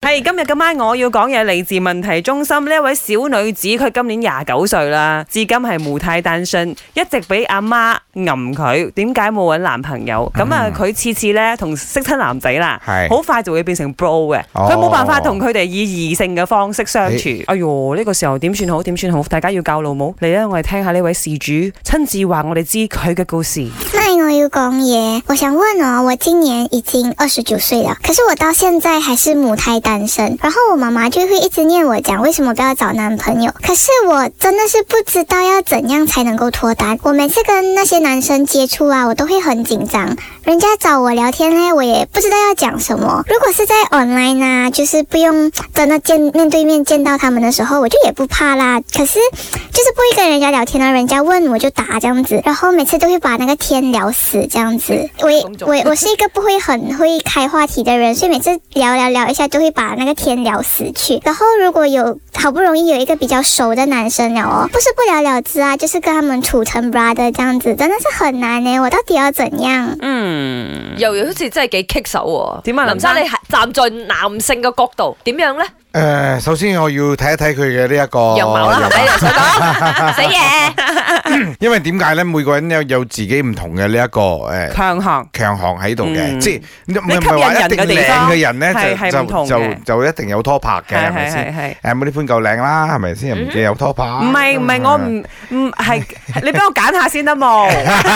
係今日今晚我要講嘢嚟自問題中心呢一位小女子，佢今年29歲啦，至今係母胎單身，一直俾阿媽揞佢，點解冇揾男朋友？咁啊，佢次次咧同識親男仔啦，好快就會變成 bro 嘅，佢冇辦法同佢哋以異性嘅方式相處。哎喲，呢個時候點算好？點算好？大家要教老母嚟啦！我哋聽下呢位事主親自話我哋知佢嘅故事。 嗨，我要講嘢，我想問哦，我今年已經29歲了，可是我到現在還是母胎單身，然後我媽媽就會一直念我講為什麼不要找男朋友，可是我真的是不知道要怎樣才能夠脫單。我每次跟那些男生接觸啊，我都會很緊張，人家找我聊天呢，我也不知道要講什麼。如果是在 online 啊，就是不用真的面對面見到他們的時候，我就也不怕啦。可是就是不會跟人家聊天啊，人家問我就答這樣子，然後每次都會把那個天聊死這樣子。我是一個不會很會開話題的人，所以每次聊一下都會把那個天聊死去。然後如果有好不容易有一個比較熟的男生了哦，不是不了了之啊，就是跟他們處成 brother 這樣子，真的是很難呢。我到底要怎樣？ 又好似真係幾棘手喎。 點啊， 林生，你係站在男性嘅角度，點樣呢？ 首先我要睇一睇佢嘅呢一個樣貌啦，係咪？想講死嘢。 因為點解咧？每個人有自己唔同嘅呢一個強項喺度嘅，即係唔係話一定靚嘅人咧就一定有拖拍嘅，係咪先？冇呢款夠靚啦，係咪先？唔見有拖拍。 唔係，我唔係，你俾我揀下先得冇？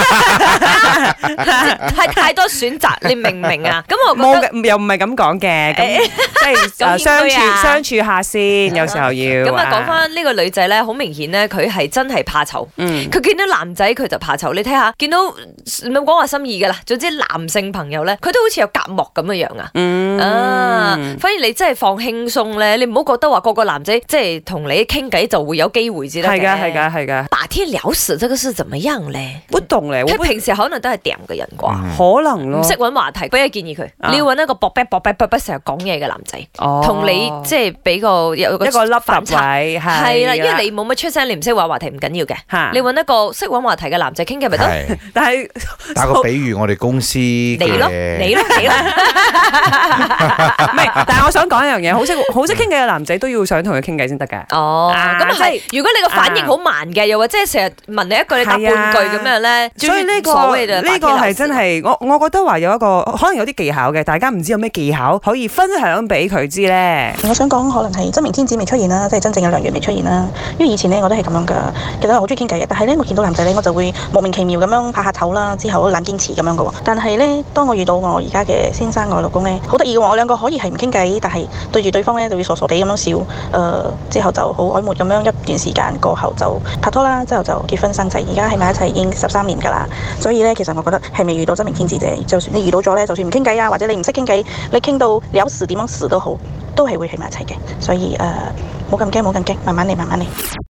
係太多選擇，你明唔明啊？咁我冇嘅，又唔係咁講嘅，即係相處下先，有時候要。 咁啊，講翻呢個女仔咧，好明顯咧，佢係真係怕醜。佢見到男仔佢就怕醜。你睇下，見到唔好講話心意噶啦，總之男性朋友咧，佢都好似有隔膜咁嘅樣啊。反而你真係放輕鬆咧，你唔好覺得話個個男仔即係同你傾偈就會有機會先得嘅。 係噶。 把天聊死，這個是怎麼樣咧？ 不懂咧， 佢平時可能都係掂嘅人啩， 可能咯。 唔識揾話題，俾個建議佢，你要揾一個搏成日講嘢嘅男仔，同你即係俾有一個粒反差，係啦，因為你冇乜出聲，你唔識揾話題唔緊要嘅，你揾一個識揾話題嘅男仔傾偈咪得。 但係打個比喻，我哋公司你咯， 唔係，但係我想講一樣嘢，好識傾偈嘅男仔都要想同佢傾偈先得㗎。 咁係，如果你個反應好慢嘅，又或者成日問你一句你答半句咁樣咧， 所以呢個係真係我覺得話有一個可能有啲技巧嘅，大家唔知有咩技巧可以分享俾佢知咧。 我想講可能係真命天子未出現啦，即係真正嘅良緣未出現啦。因為以前呢，我都係咁樣噶，其實我好中意傾偈嘅，但係呢，我見到男仔呢，我就會莫名其妙咁樣拍下頭啦，之後懶堅持咁樣噶喎。但係呢，當我遇到我而家嘅先生我老公呢，好得意嘅喎，我兩個可以係唔傾偈，但係對住對方呢，就會傻傻地咁樣笑。之後就好曖昧咁樣一段時間過後就拍拖啦，之後就結婚生仔，而家喺埋一齊已經13年噶啦。所以呢，其實我覺得係未遇到真命天子啫。就算你遇到咗呢，就算唔傾偈啊，或者你唔識傾偈，你傾到聊死點樣死都好，都係會喺埋一齊嘅。所以冇咁驚，慢慢嚟。